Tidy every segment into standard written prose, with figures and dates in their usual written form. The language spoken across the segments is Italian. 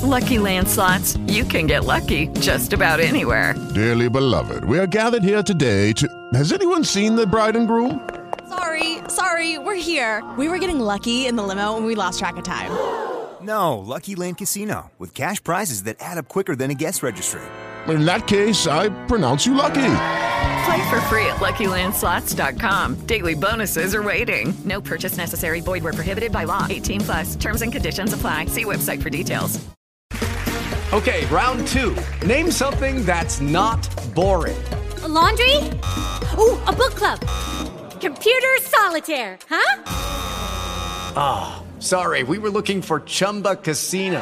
Lucky Land Slots, you can get lucky just about anywhere. Dearly beloved, we are gathered here today to... Has anyone seen the bride and groom? Sorry, we're here. We were getting lucky in the limo and we lost track of time. No, Lucky Land Casino, with cash prizes that add up quicker than a guest registry. In that case, I pronounce you lucky. Play for free at LuckyLandSlots.com. Daily bonuses are waiting. No purchase necessary. Void where prohibited by law. 18+. Terms and conditions apply. See website for details. Okay, round two. Name something that's not boring. A laundry? Ooh, a book club. Computer solitaire, huh? Ah, sorry, we were looking for Chumba Casino.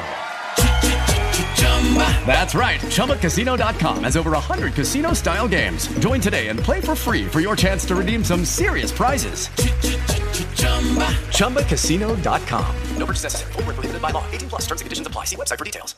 That's right, ChumbaCasino.com has over 100 casino-style games. Join today and play for free for your chance to redeem some serious prizes. ChumbaCasino.com. No purchase necessary. Void where prohibited by law. 18+. Terms and conditions apply. See website for details.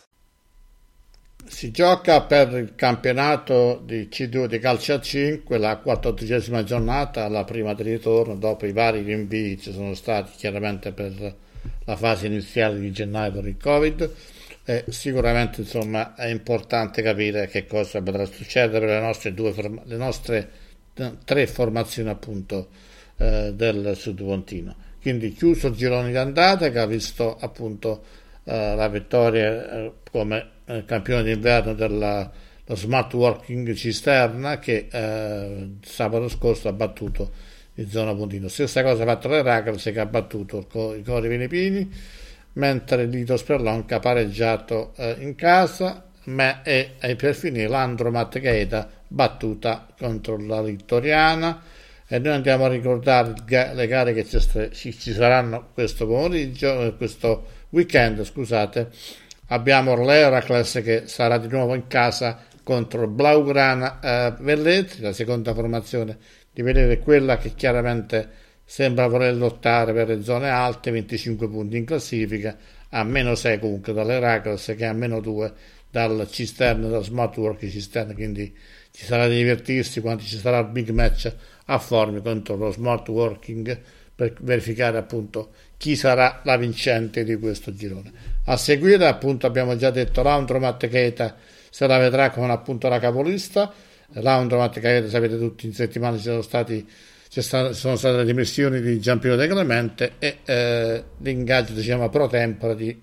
Si gioca per il campionato di C2 di calcio a 5, la 14ª giornata, la prima di ritorno dopo i vari rinvii ci sono stati chiaramente per la fase iniziale di gennaio per il Covid. E sicuramente insomma è importante capire che cosa potrà succedere per le nostre tre formazioni appunto del Sud Pontino. Quindi chiuso il girone di andata che ha visto appunto la vittoria come campione d'inverno dello Smart Working Cisterna che sabato scorso ha battuto il Zona Pontino. Stessa cosa ha fatto l'Heracles che ha battuto i Cori Venipini, mentre l'Ito Sperlonca ha pareggiato in casa e per finire l'Andromat Gaeta battuta contro la Vittoriana. E noi andiamo a ricordare le gare che ci saranno questo pomeriggio, questo weekend, scusate. Abbiamo l'Heracles che sarà di nuovo in casa contro Blaugrana Velletri, la seconda formazione di vedere quella che chiaramente sembra voler lottare per le zone alte, 25 punti in classifica, a -6 comunque dall'Heracles che è a -2 dal Cisterna, dal Smart Work Cisterna, quindi ci sarà da divertirsi quando ci sarà il big match a Formia contro lo Smart Working per verificare appunto chi sarà la vincente di questo girone. A seguire appunto abbiamo già detto l'Andromat Gaeta se la vedrà con appunto la capolista. L'Andromat Gaeta, sapete tutti, in settimana ci sono state le dimissioni di Giampiero De Clemente e l'ingaggio diciamo pro tempore di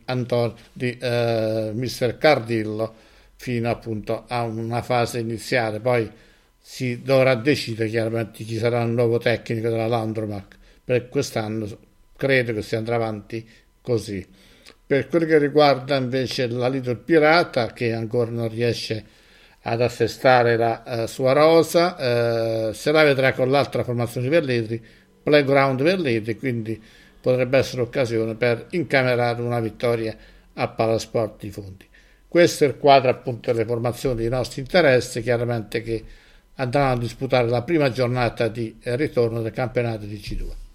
Mister Cardillo fino appunto a una fase iniziale. Poi si dovrà decidere chiaramente chi sarà il nuovo tecnico della Landromat. Per quest'anno credo che si andrà avanti così. Per quello che riguarda invece la Little Pirata, che ancora non riesce ad assestare la sua rosa, se la vedrà con l'altra formazione di Velletri, Playground Velletri, quindi potrebbe essere occasione per incamerare una vittoria a Palasport di Fondi. Questo è il quadro appunto delle formazioni dei nostri interessi, chiaramente che andranno a disputare la prima giornata di ritorno del campionato di C2.